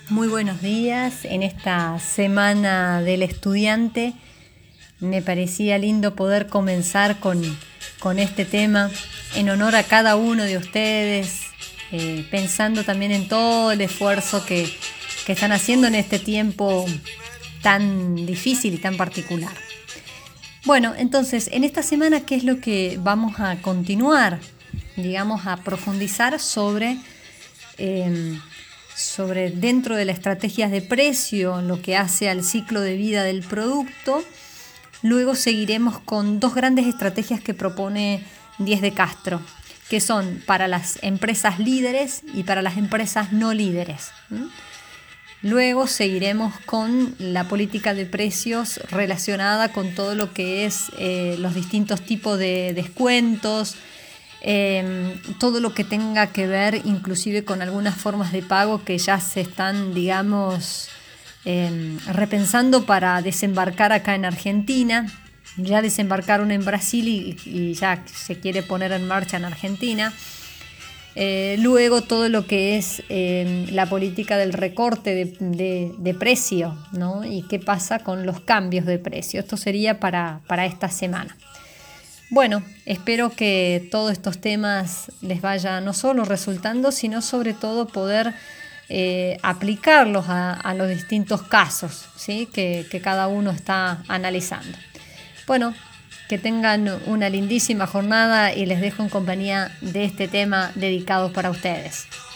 Muy buenos días. En esta semana del estudiante me parecía lindo poder comenzar con este tema en honor a cada uno de ustedes, pensando también en todo el esfuerzo que están haciendo en este tiempo tan difícil y tan particular. Bueno, entonces, en esta semana, ¿qué es lo que vamos a continuar? Digamos, a profundizar sobre dentro de las estrategias de precio, lo que hace al ciclo de vida del producto. Luego seguiremos con dos grandes estrategias que propone Diez de Castro, que son para las empresas líderes y para las empresas no líderes. Luego seguiremos con la política de precios relacionada con todo lo que es los distintos tipos de descuentos, todo lo que tenga que ver inclusive con algunas formas de pago que ya se están, digamos, repensando para desembarcar acá en Argentina. Ya desembarcaron en Brasil y ya se quiere poner en marcha en Argentina. Luego todo lo que es la política del recorte de precio, ¿no? Y qué pasa con los cambios de precio. Esto sería para esta semana. Bueno, espero que todos estos temas les vaya no solo resultando, sino sobre todo poder aplicarlos a los distintos casos, ¿sí? que cada uno está analizando. Bueno, que tengan una lindísima jornada y les dejo en compañía de este tema dedicado para ustedes.